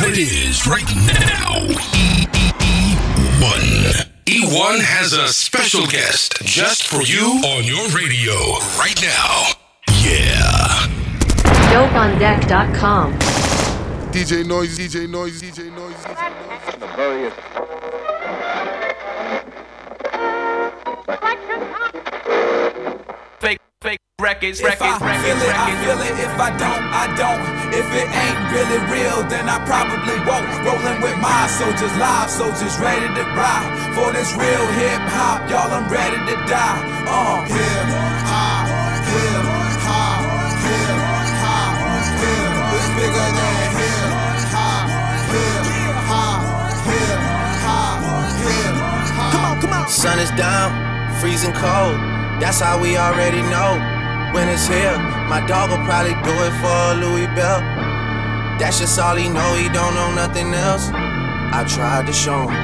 what it is right now. E1. E1 has a special guest just for you on your radio right now. Yeah. DopeOnDeck.com. DJ Noise, DJ Noise, DJ Noise, DJ Noise. Fake records. If I feel it. If I don't, I don't. If it ain't really real, then I probably won't. Rolling with my soldiers, live soldiers, ready to ride. For this real hip hop, y'all, I'm ready to die. Hip hop, hip hop, hip hop, hip. It's bigger than hip hop, hip hop, hip hop, hip hop. Come on. Sun is down, freezing cold. That's how we already know when it's here. My dog will probably do it for Louis Bell. That's just all he know, he don't know nothing else. I tried to show him.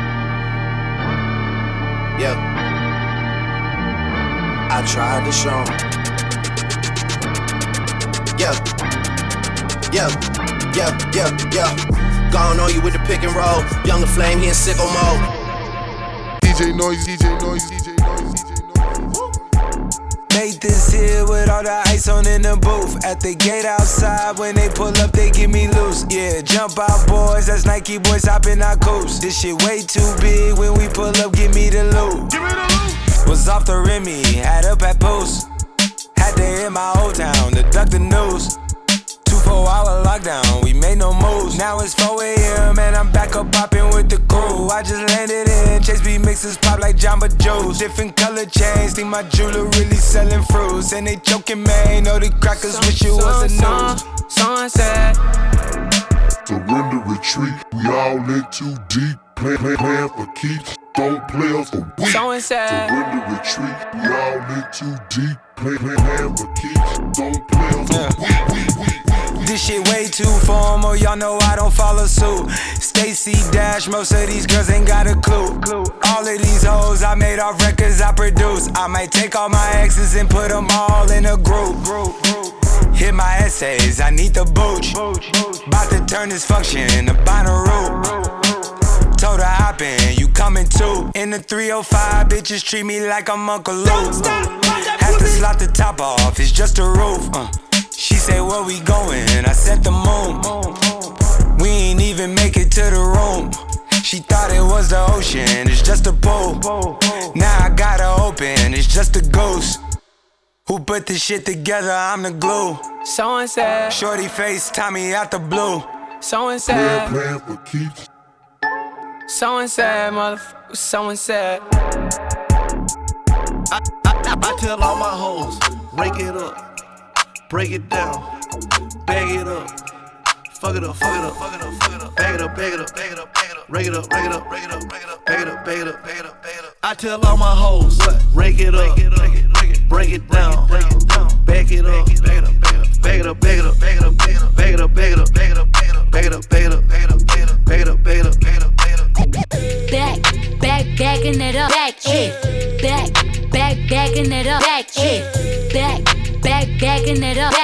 Yeah, I tried to show him. Yeah. Gone on you with the pick and roll. Younger Flame, he in sicko mode. DJ Noise, DJ Noise, DJ Noise, DJ Noise. Made this here with all the ice on in the booth. At the gate outside, when they pull up, they give me loose. Yeah, jump out, boys. That's Nike boys hopping our coast. This shit way too big. When we pull up, give me the loot. Was off the Remy, had up at post. Had to hit my old town to duck the news. 24-hour lockdown, we made no moves. Now it's 4 a.m. and I'm back up popping with the crew. I just landed in, Chase B mixes pop like Jamba Joe's. Different color chains, think my jeweler really selling fruits. And they joking, man, know the crackers wish it was a news. Sunset. Surrender, retreat, we all in too deep. Playing for keeps, don't play us for weak. Surrender, retreat, we all in too deep. Playing for keeps, don't play us for weak. This shit way too formal, y'all know I don't follow suit. Stacy Dash, most of these girls ain't got a clue. All of these hoes I made off records I produce. I might take all my exes and put them all in a group. Hit my essays, I need the booch. About to turn this function into Bonnaroo. Told her hop in, you coming too. In the 305, bitches treat me like I'm Uncle Luke. Have to slot the top off, it's just a roof. She say, where we going? I said the moon. We ain't even make it to the room. She thought it was the ocean, it's just a pool. Now I gotta open, it's just a ghost. Who put this shit together? I'm the glue. So and said. Shorty face, Tommy out the blue. So and said. Playing for keeps. So and said, motherfucker. So and said. I tell all my hoes, break it up. Break it down, bag it up, fuck it up, bag it up, bag it up, rake it up, bag it up, bag it up. I tell all my hoes, rake it up, break it down, bag it up, bag it up, bag it up, bag it up, bag it up, bag it up, bag it up, bag it up, bag it up, bag it up, bag it up, bag it up, bag it up, bag it up, bag it up. Backing it up, backing it up, backing it up,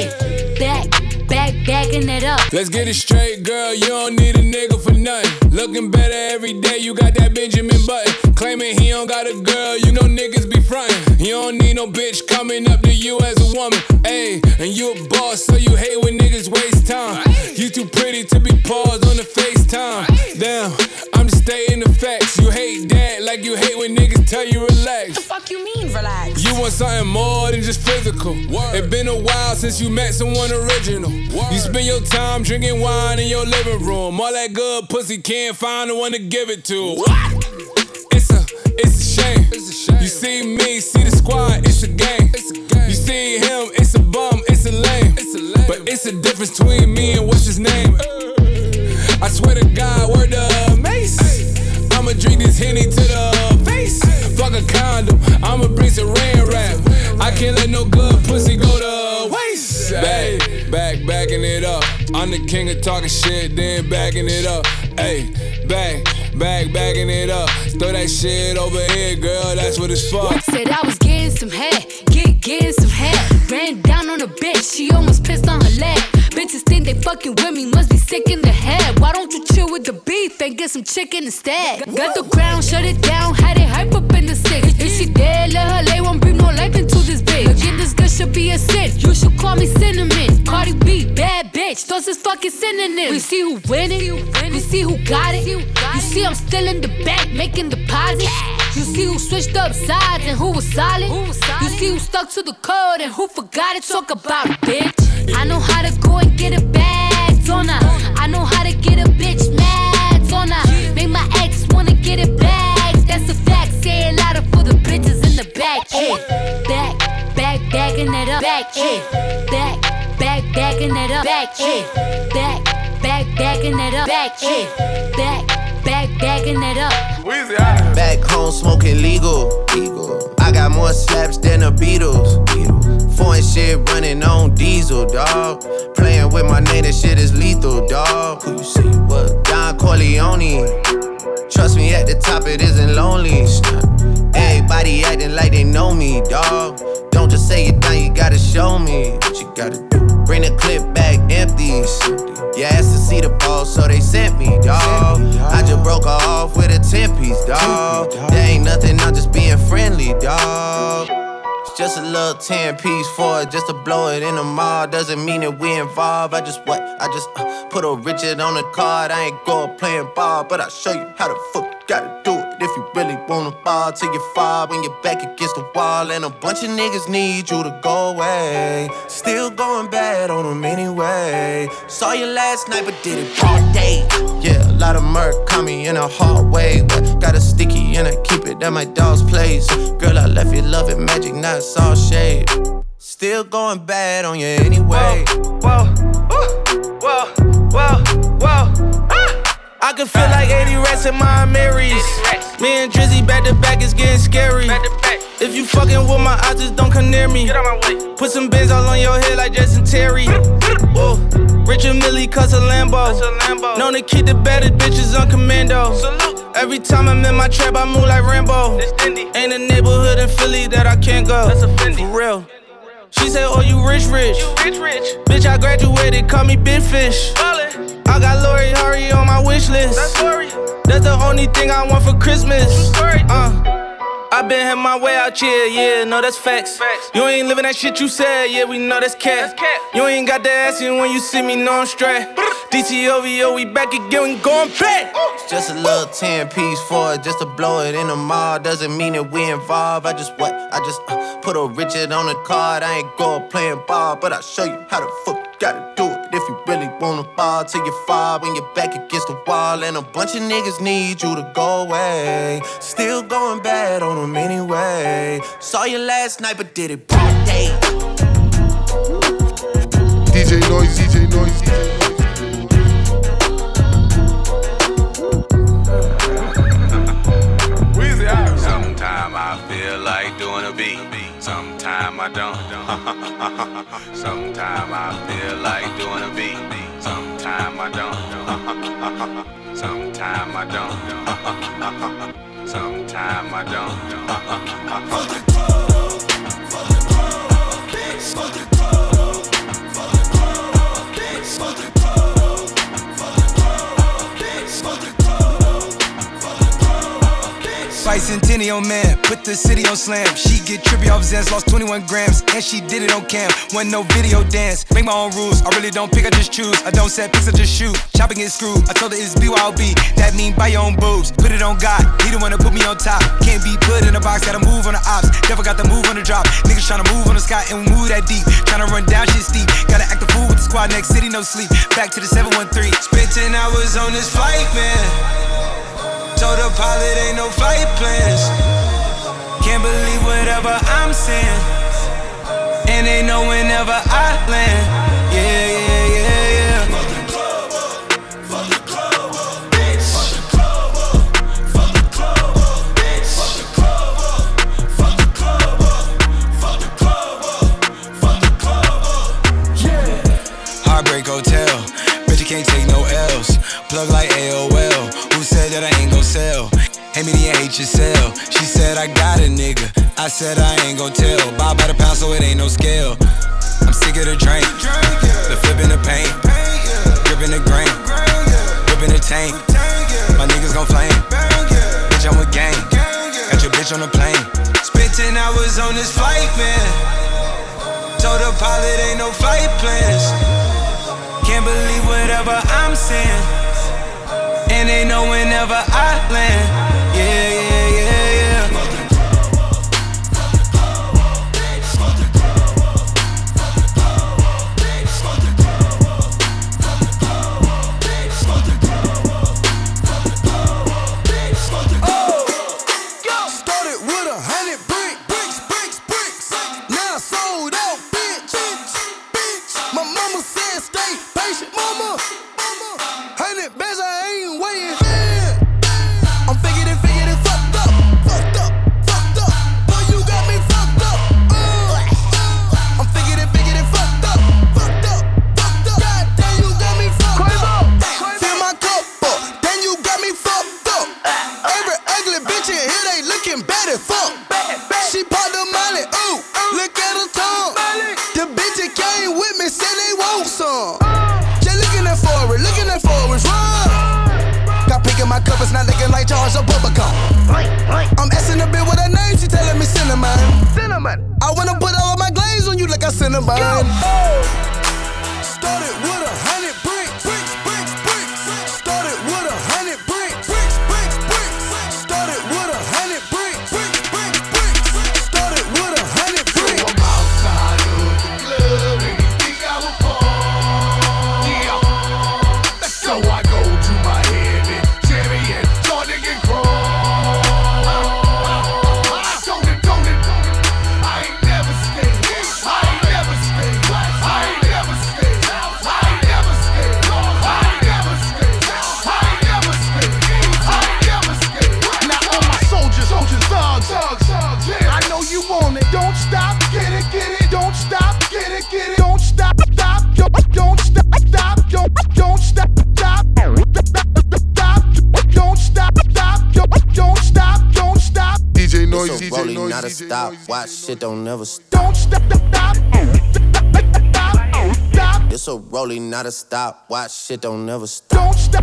backing it up. Let's get it straight, girl, you don't need a nigga for nothing. Looking better every day, you got that Benjamin Button. Claiming he don't got a girl, you know niggas be frontin'. You don't need no bitch coming up to you as a woman. Ayy, and you a boss, so you hate when niggas waste time. You too pretty to be paused on the FaceTime. Damn, I'm just stating the facts. You hate that like you hate when niggas tell you relax. The fuck you mean relax? You want something more than just physical. It's been a while since you met someone original. You spend your time drinking wine in your living room. All that good pussy can't find the one to give it to. What? It's a shame. You see me, see the squad, it's a game. You see him, it's a bum, it's a lame. But it's a difference between me and what's his name. I swear to God, word to Mace. I'ma drink this Henny to the face. Fuck a condom, I'ma bring some rain rap. I can't let no good pussy go to waste. Backing it up. I'm the king of talking shit, then backing it up. Ayy, backing it up. Throw that shit over here, girl, that's what it's for. Said I was getting some head, get getting some head. Ran down on a bitch, she almost pissed on her leg. Bitches think they fucking with me, must be sick in the head. Why don't you chill with the beef and get some chicken instead? Got the crown, shut it down, had it hype up in the six. If she dead, let her lay, won't bring no life into this bitch. Again, this girl should be a sin, you should call me Cinnamon. Cardi B, bad bitch, those is fucking synonyms. We see who winning, we see who got it. You see I'm still in the back, making deposits. You see who switched up sides and who was solid. You see who stuck to the code and who forgot it. Talk about it, bitch. I know how to go and get a bag, don't I? I know how to get a bitch mad, don't I? Make my ex wanna get it back. That's a fact. Say it louder for the bitches in the back. Hey, bagging it up. Back, hey, bagging it up. Back, hey, bagging it up. Back, hey, bagging it up. Back home smoking legal. I got more slaps than the Beatles. Foreign shit running on diesel, dawg. Playing with my name, this shit is lethal, dawg. Who you see? What? Don Corleone. Trust me, at the top it isn't lonely. Everybody acting like they know me, dawg. Don't just say it down, you gotta show me what you gotta do. Bring the clip back empties. You asked to see the ball, so they sent me, dawg. I just broke her off with a 10-piece, dawg. There ain't nothing, I'm just being friendly, dawg. It's just a little 10-piece for it, just to blow it in the mall. Doesn't mean that we involved. I just put a Richard on the card. I ain't go playing ball, but I'll show you how the fuck you gotta do it. If you really wanna ball till you fall when you're back against the wall. And a bunch of niggas need you to go away. Still going bad on them anyway. Saw you last night but did it all day. Yeah, a lot of murk caught me in a hard way. But got a sticky and I keep it at my dog's place. Girl, I left you loving magic, not all shade. Still going bad on you anyway. Whoa. I can feel like 80 rats in my Marys. Me and Drizzy back to back, it's getting scary. If you fucking with my eyes, just don't come near me. Get out my way. Put some bins all on your head like Jason Terry. Whoa. Richard Millie cuss a Lambo. Known to keep the baddest bitches on commando. Salute. Every time I'm in my trap, I move like Rambo. Ain't a neighborhood in Philly that I can't go. That's a Fendi. For real. She said, oh, you rich. Bitch, I graduated, call me Big Fish. Ballin'. I got Lori Harvey on my wish list. That's the only thing I want for Christmas. I been had my way out here, yeah, no, that's facts. You ain't living that shit you said, yeah, we know that's cat. You ain't got the ass in when you see me, no, I'm straight. DTOVO, we back again, we going back. It's just a little 10-piece for it, just to blow it in the mall. Doesn't mean that we involved. I just put a Richard on the card. I ain't go playing ball, but I'll show you how the fuck you gotta do it. If you really wanna fall till you fall when you're back against the wall. And a bunch of niggas need you to go away. Still going bad on them anyway. Saw you last night but did it broad day. DJ Noise. Sometime I feel like doing a beat. Sometime I don't. Sometime I feel like doing a beat. Sometime I don't. Sometime I don't. Sometime I don't. For the club, bitch. For the club, bitch. For the club, bitch. For the Fight Centennial man, put the city on slam. She get trippy off Zans, lost 21 grams, and she did it on cam. Wasn't no video dance, make my own rules. I really don't pick, I just choose. I don't set picks, I just shoot. Chopping it screwed, I told her it's BYOB. That mean buy your own boobs, put it on God. He the one to put me on top. Can't be put in a box, gotta move on the ops. Never got the move on the drop. Niggas tryna move on the sky and move that deep. Tryna run down shit steep. Gotta act the fool with the squad, next city, no sleep. Back to the 713. Spent 10 hours on this flight, man. Told the pilot ain't no flight plans. Can't believe whatever I'm saying. And they know whenever I land. Yeah. For the club, bitch. For the club, bitch. For the club, yeah. Heartbreak Hotel. Bitch, you can't take no L's. Plug like AOL. Who said that I ain't gon' sell? Hey, me the HSL. She said I got a nigga. I said I ain't gon' tell. Buy by the pound so it ain't no scale. I'm sick of the drink, the flipping the paint, gripping the grain, whipping the tank. My niggas gon' flame. Bitch, I'm with gang. Got your bitch on the plane. Spent 10 hours on this flight, man. Told the pilot ain't no flight plans. Can't believe whatever I'm saying. And they know whenever I land. Yeah, yeah, yeah, yeah. Started with 100 bricks. Now sold out, bitch. My mama said stay patient, mama. 100 bands, I ain't waiting. I'm figured it fucked up. Boy, you got me fucked up. I'm figured it fucked up. God damn, you got me fucked up. Fill my cup up, then you got me fucked up. Every ugly bitch in here, they looking bad as fuck. She popped the molly, ooh, look at her tongue. The bitch that came with me said they want some. Just looking at forwards, run. Got pink in my cup, it's not looking like Charles or Bubblegum. I'm asking a bitch what her name, she telling me cinnamon. I wanna put all of my glaze on you like a cinnamon. Started with 100 bricks. Started with 100 bricks. Started with 100 bricks. Started with 100 bricks. I'm outside of the club and you think I was born. Yeah. So I go to my head and Jerry and Jordan and crawl. Don't it. I ain't never stayed. Now all my soldiers, thugs. I know you want it. Don't stop, get it. Don't stop, get it. Don't stop, don't stop. DJ Noise, it's a rolling, not a stop. Watch shit don't never stop. Don't stop. It's a rolling, not a stop. Watch shit don't never stop. Don't stop.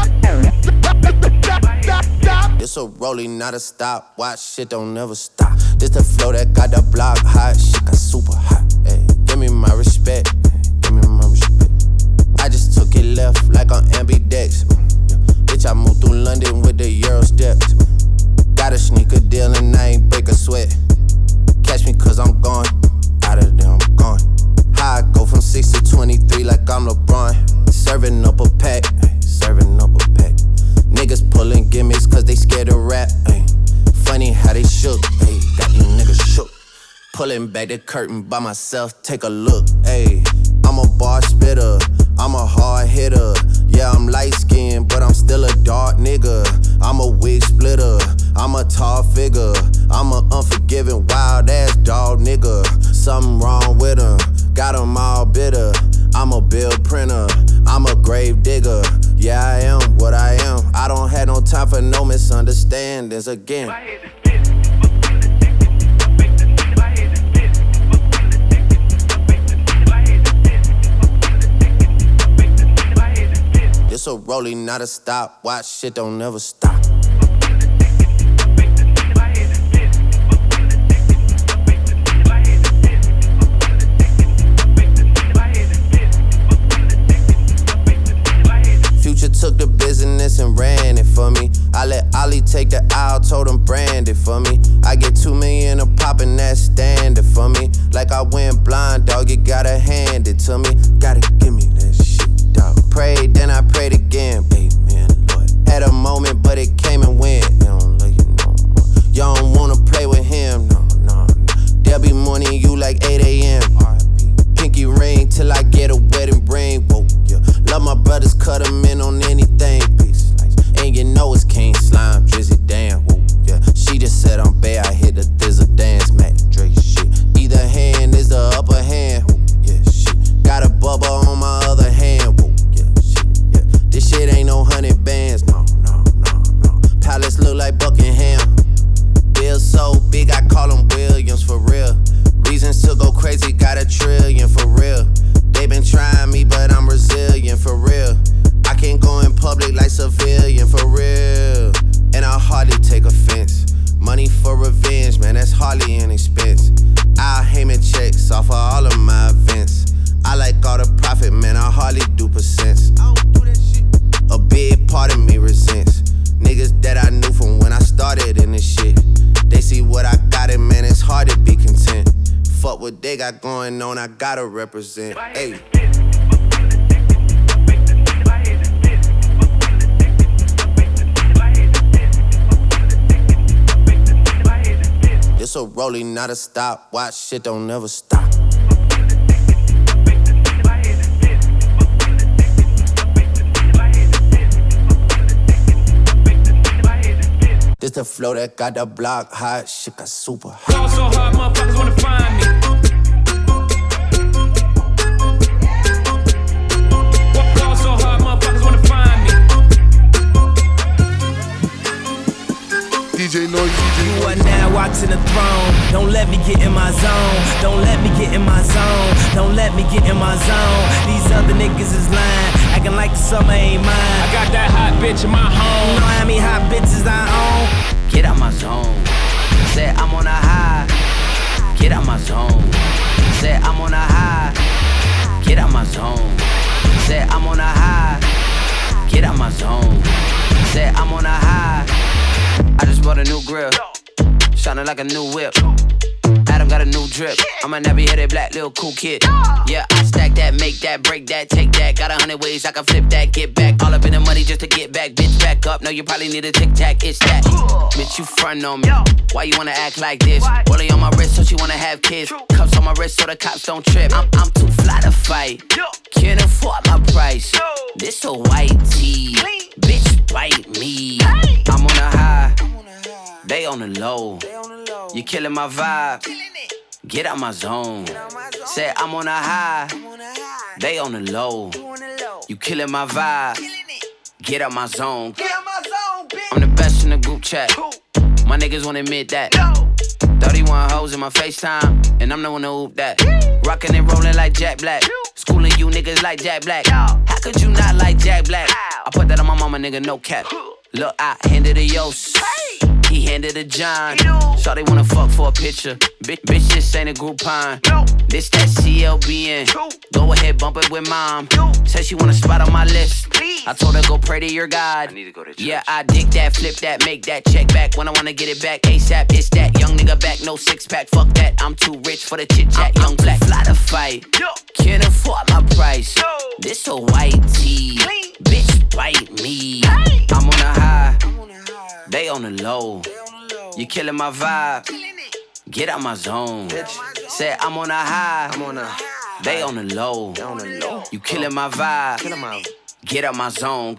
It's a rolling, not a stop. Watch shit don't never stop. This the flow that got the block hot. Shit got super hot. Ay, give me my respect. I just took it left like on ambidex. Bitch, I moved through London with the Euro steps. Got a sneaker deal and I ain't break a sweat. Catch me cause I'm gone. Out of there, I'm gone. How I go from 6 to 23 like I'm LeBron. Serving up a pack. Niggas pulling gimmicks cause they scared to rap. Ay. Funny how they shook. Ay. Got these niggas shook. Pulling back the curtain by myself, take a look. Ay. I'm a bar spitter, I'm a hard hitter. Yeah, I'm light skinned, but I'm still a dark nigga. I'm a wig splitter, I'm a tall figure. I'm a unforgiving, wild ass dog nigga. Something wrong with him, got him all bitter. I'm a bill printer, I'm a grave digger. Yeah, I am what I am. I don't have no time for no misunderstandings again. It's a rolling, not a stop. Watch shit don't never stop. Future took the business and ran it for me. I let Ollie take the aisle, told him brand it for me. I get 2 million a pop and that's standard for me. Like I went blind, dog, you gotta hand it to me. Gotta give me that shit, dog. Prayed, then I prayed again. Amen, Lord. Had a moment, but it came and went. They don't love you no more. You don't wanna play with him, no. They'll be mourning you like 8 a.m. Pinky ring till I get a wedding ring. Whoa, yeah. Love my brothers, cut them in on anything. Peace, and you know it's King Slime, Drizzy, damn. Whoa, yeah. She just said I'm bad, I hit the thizzle dance, Mac Drake shit. Either hand is the upper hand. Whoa, yeah, shit. Got a bubba on my other hand. Whoa, yeah, shit, yeah. This shit ain't no 100 bands, no. Palace look like bucket got going on, I gotta represent. Hey. This a rolling, not a stop. Watch shit don't never stop. This the flow that got the block hot. Shit got super hot. Fall so hard, motherfuckers wanna find me. Fall so hard, motherfuckers wanna find me. DJ Noise. You are now watching the throne. Don't let me get in my zone. Don't let me get in my zone. Don't let me get in my zone. These other niggas is lying, acting like the summer ain't mine. I got that hot bitch in my home. You know how many hot bitches I own? Get out my zone. Said I'm on a high. Get out my zone. Said I'm on a high. Get out my zone. Said I'm on a high. Get out my zone. Said I'm on a high. I just bought a new grill, shining like a new whip. Adam got a new drip. I'm a nappy-headed black little cool kid. Yeah, I stack that, make that, break that, take that. Got 100 ways I can flip that, get back. All up in the money just to get back. Bitch, back up. No, you probably need a tic-tac. It's that. Bitch, you front on me. Why you wanna act like this? Rollie on my wrist so she wanna have kids. Cups on my wrist so the cops don't trip. I'm too fly to fight. Can't afford my price. This a white tee. Bitch, bite me. I'm on a high. They on the low. You killing my vibe. Get out my zone. Said I'm on a high. They on the low. You killing my vibe. Get out my zone. I'm the best in the group chat. My niggas won't admit that. 31 hoes in my FaceTime, and I'm the one to hoop that. Rockin' and rollin' like Jack Black. Schooling you niggas like Jack Black. How could you not like Jack Black? I put that on my mama, nigga, no cap. Look, I handed a Yos. He handed a John. Shawty wanna fuck for a picture. Bitch, this ain't a Groupon. This that CLBN. Go ahead, bump it with mom. Said she want a spot on my list. I told her go pray to your God. Yeah, I dig that, flip that, make that check back. When I wanna get it back, ASAP, it's that. Young nigga back, no six-pack, fuck that. I'm too rich for the chit-chat, young black. Fly to fight, can't afford my price. This a white tee, bitch, bite me. I'm on a high, they on the low. You killing my vibe, get out my zone. Said I'm on a high, they on the low. You killing my vibe, get out my zone.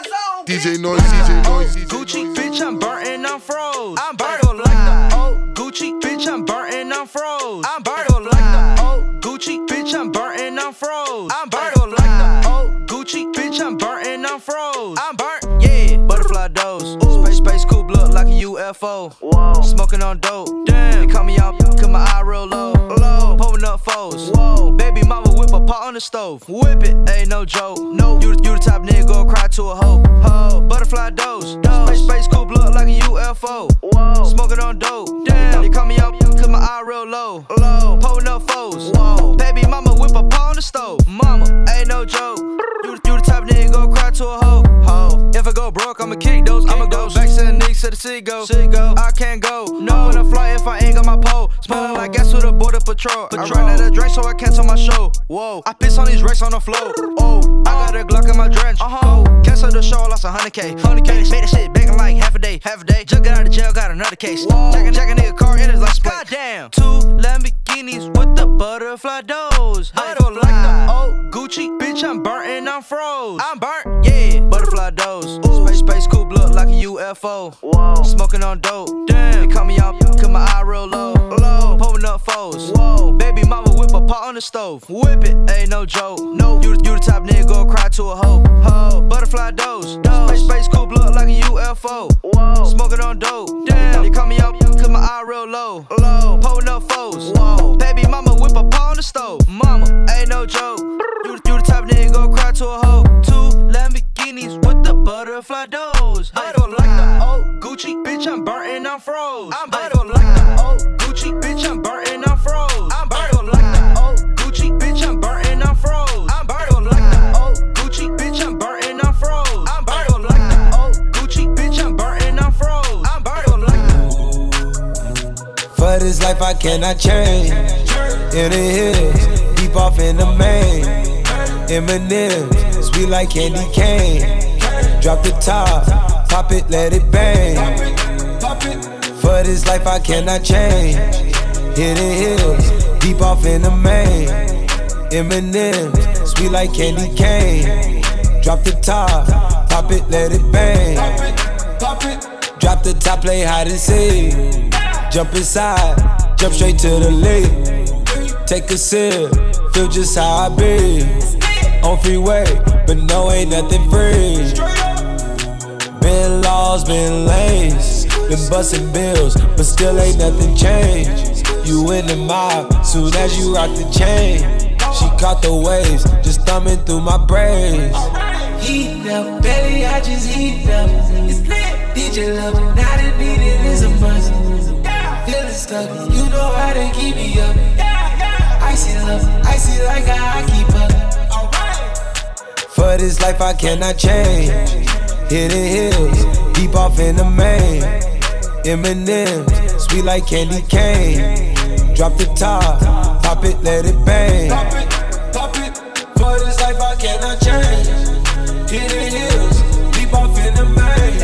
DJ Noise, DJ Noise. Gucci, bitch, I'm burnt and I'm froze. I'm burnt like the old Gucci, bitch, I'm burnt and I'm froze. I'm burnt like the old Gucci, bitch, I'm burnt and I'm froze. I'm burnt like the old Gucci, bitch, I'm burnt and I'm froze. I'm burnt, yeah. Butterfly dose, space coupe look like a UFO. Whoa. Smoking on dope, damn. They call me out, cause my eye real low. Pulling up foes, whoa. Baby mama whip a pot on the stove. Whip it, ain't no joke. No, you the type nigga go cry to a hoe. Butterfly dose, space coupe look like a UFO. Whoa. Smoking on dope, damn. They call me out, cause my eye real low. Pulling up foes, whoa. Baby mama whip a pot on the stove. Mama, ain't no joke. You the type nigga go cry to a hoe. If I go broke, I'ma kick those. I'ma go back to the Knicks to the city go. I can't go, no. When I fly if I ain't got my pole. Smelling like gas with a border patrol. I ran out of drink so I cancel my show. Whoa, I piss on these racks on the floor. Oh, I got a Glock in my drench. Cancel the show, lost 100K. Made that shit back in like half a day. Just got out of jail, got another case. Jack a nigga car in his like split. Goddamn. 2 Lamborghinis with the butterfly doors. Butterfly like the old Gucci, bitch, I'm burnt and I'm froze. I'm burnt, yeah. Butterfly dose. Space coupe look like a UFO. Whoa. Smoking on dope, damn. They call me out, cause my eye real low. Pulling up foes, whoa. Baby mama whip a pot on the stove. Whip it, ain't no joke. No, you the type nigga go cry to a hoe. Butterfly dose, space coupe look like a UFO. Whoa. Smoking on dope, damn. They call me out, cause my eye real low. Pulling up foes, whoa. Baby mama whip a pot on the stove. Mama, ain't no joke. You the type nigga go cry to a hoe. 2 Lamborghinis with the butterfly doors. I don't like the old Gucci, bitch, I'm burnt and I'm froze. I don't like the old Gucci, bitch, I'm burnt and I'm froze. I don't like the old Gucci, bitch, I'm burnt and I'm froze. I don't like the old Gucci, bitch, I'm burnt and I'm froze. I don't like the old Gucci, bitch, I'm burnt and I'm froze. I don't like the. For this life I cannot change. in the hills, deep off in the main. Eminem, sweet like candy cane. Drop the top, pop it, let it bang. For this life I cannot change. Hit the hills, deep off in the main. Eminem, sweet like candy cane. Drop the top, pop it, let it bang. Drop the top, play hide and seek. Jump inside, jump straight to the lake. Take a sip, feel just how I be. On freeway, but no, ain't nothing free. Been lost, been lanes, been busting bills, but still ain't nothing changed. You in the mob, soon as you rock the chain. She caught the waves, just thumbing through my braids. Heat up, baby, I just heat up. It's lit. DJ love it, now the beat it is a must. Feeling stuck, you know how to keep me up. Icy love, icy like how I keep up. For this life I cannot change. Hit the hills, deep off in the main. Eminem, sweet like candy cane. Drop the top, pop it, let it bang. Pop it, for this life I cannot change. Hit the hills, deep off in the main.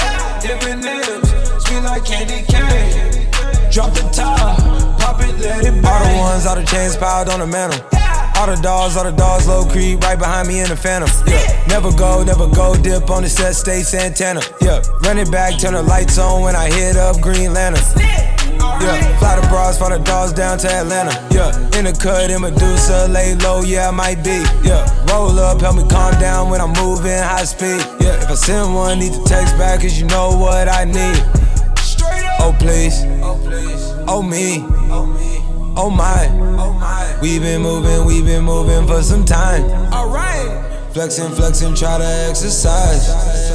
Eminem, sweet like candy cane. Drop the top, pop it, let it bang. All the ones, all the chains piled on the mantle. All the dogs, low creep, right behind me in the phantom. Yeah, never go, dip on the set, stay Santana. Yeah, run it back, turn the lights on when I hit up Green Lantern. Yeah, fly the bras, fly the dogs down to Atlanta. Yeah, in the cut, in Medusa, lay low, yeah, I might be. Yeah, roll up, help me calm down when I'm moving high speed. Yeah, if I send one, need to text back, cause you know what I need. Oh please, oh me, oh my, we been moving for some time. Alright, flexing, try to exercise.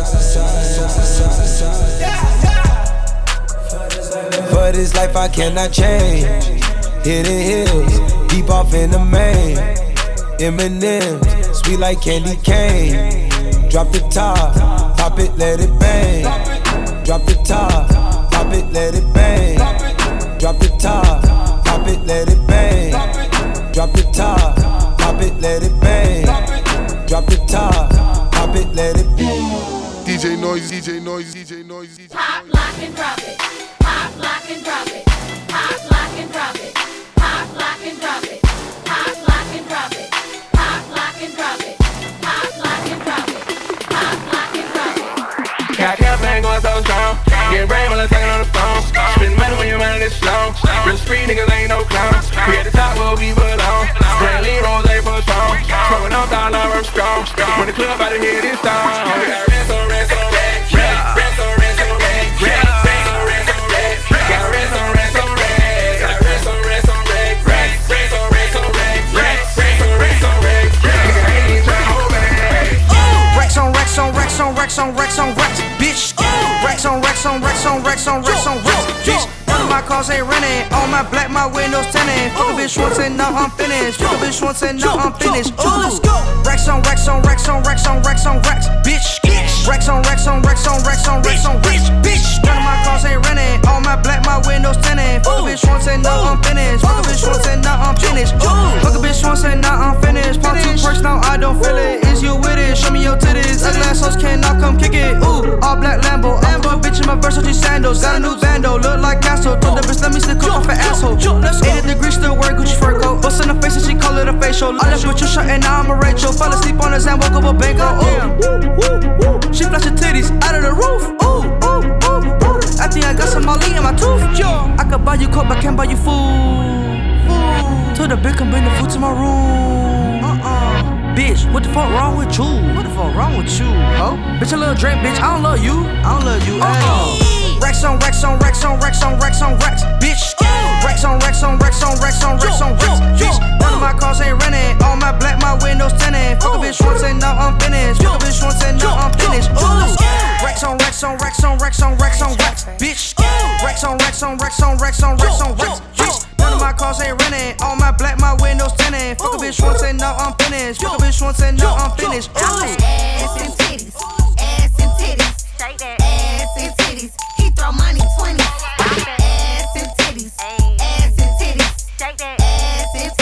For this life I cannot change. Hit the hills, deep off in the main. Eminem, sweet like candy cane. Drop the top, pop it, let it bang. Drop the top, pop it, let it bang. Drop the top, pop it, let it bang. Drop the top, pop it, let it bang. Drop the top, pop it, let it bang. DJ Noise, DJ Noise, DJ Noise, DJ Noise. Pop, lock, and drop it. Pop, lock, and drop it. Pop, lock, and drop it. Pop, lock, and drop it. Pop, lock, and drop it. Pop, lock, and drop it. Pop, lock, and drop it. Pop, lock, and drop it. Got campaign going so strong. Get brain while I'm talking on the phone. Spend money when you're running this slow. Real street niggas ain't no clowns. We at the top where we belong. Brand Lee Rose ain't for strong. Smoking on down, I'm strong. When the club out of here this time. We got rest on rest on rest. Rest on rest on rest. Rest on rest on rest. Got rest on rest on rest. Got rest on rest on rest. Rest on rest on rest. Rest on rest on rest. Nigga ain't even tryna hold back. Racks on racks on racks on racks on racks on racks, bitch. Racks on racks on racks on racks on racks on racks, bitch. None of my cars ain't renting. All my black, my windows tinted. Fuck a bitch once and now I'm finished. Fuck a bitch once and now I'm finished. Let's go. Racks on racks on racks on racks on racks on racks, bitch. Racks on racks on racks on racks on racks on racks, bitch. None of my cars ain't renting. All my black, my windows tinted. Fuck a bitch once and now I'm finished. Fuck a bitch once and now I'm finished. Fuck a bitch once and now I'm finished. Pop 2 perks, now I don't feel it. Is you with it? Show me your titties. Ugly assholes cannot come kick it. Ooh, all black Lambo. I'm a bitch in my Versace sandals. Got a new bando, look like Castro. Told the bitch let me stick off an asshole. 80 degrees still wear Gucci fur coat. Bust in the face and she call it a facial. I left with your shirt and now I'm a Rachel. Fell asleep on the Zan, woke up a bank. Ooh, she flash her titties out of the roof. Ooh, I think I got some Molly in my tooth. I could buy you coke, but can't buy you food. Told the bitch come bring the food to my room. Bitch, what the fuck wrong with you? What the fuck wrong with you, ho? Bitch, a little drink, bitch, I don't love you. I don't love you at all. Racks on racks on racks on racks on racks on racks, bitch. Racks on racks on racks on racks on racks on racks, bitch. None of my cars ain't renting. All my black, my windows tinted. Fuck a bitch once and now I'm finished. Fuck a bitch once and now I'm finished. Racks on racks on racks on racks on racks on racks, bitch. Racks on racks on racks on racks on racks on racks, bitch. None of my cars ain't renting. All my black, my windows tinted. Fuck a bitch once and now I'm finished. Fuck a bitch once and now I'm finished. Ass and titties, ass and titties, shake that ass and titties. He throw money 20. Ass and titties, ass and titties, shake that ass and titties.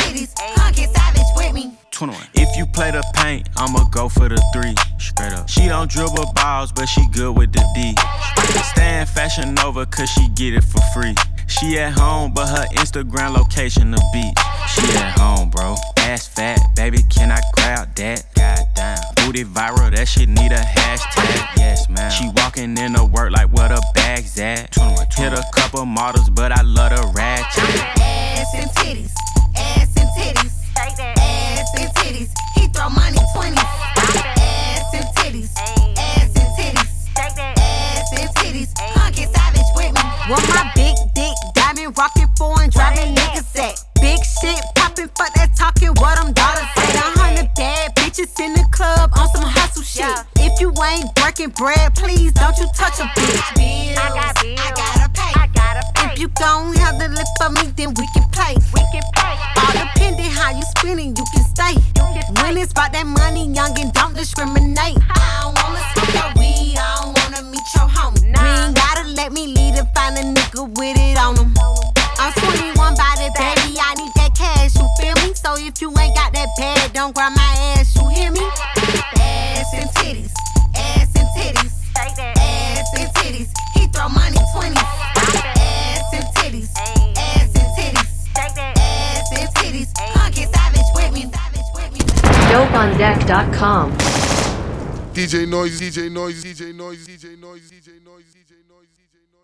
3, straight up. She don't dribble balls, but she good with the D. Stay in Fashion Nova, cause she get it for free. She at home, but her Instagram location the beach. She at home, bro. Ass fat, baby, can I grab that? Goddamn. Booty viral, that shit need a hashtag. Yes, man. She walking into work like where the bag's at. Hit a couple models, but I love the ratchet. Ass and titties, ass and titties, ass and titties. He throw money 20s. Ass and titties, ass and titties, ass and titties. Come get savage with me. Want my big dick, diamond rockin' foreign, driving niggas at. Big shit poppin', fuck that talking, what them dollars say. 100 bad bitches in the club on some hustle shit. If you ain't breaking bread, please don't you touch a bitch. Bills, I gotta pay. If you gon' have the lip for me, then we can play. All depending how you spinning, you can stay. When it's about that money, youngin', don't discriminate. I don't wanna smoke your weed, I don't wanna meet your homie. You ain't gotta let me lead and find a nigga with it on him. I'm 21 by the baby, I need that cash, you feel me? So if you ain't got that bag, don't grab my ass, you hear me? Ass and titties, ass and titties, ass and titties. He throw money 20s. Ass and titties, ass and titties, ass and titties. Come get savage with me, savage with me. DopeOnDeck.com. DJ Noise, DJ Noise, DJ Noise, DJ Noise, DJ Noise, DJ Noise, DJ Noise.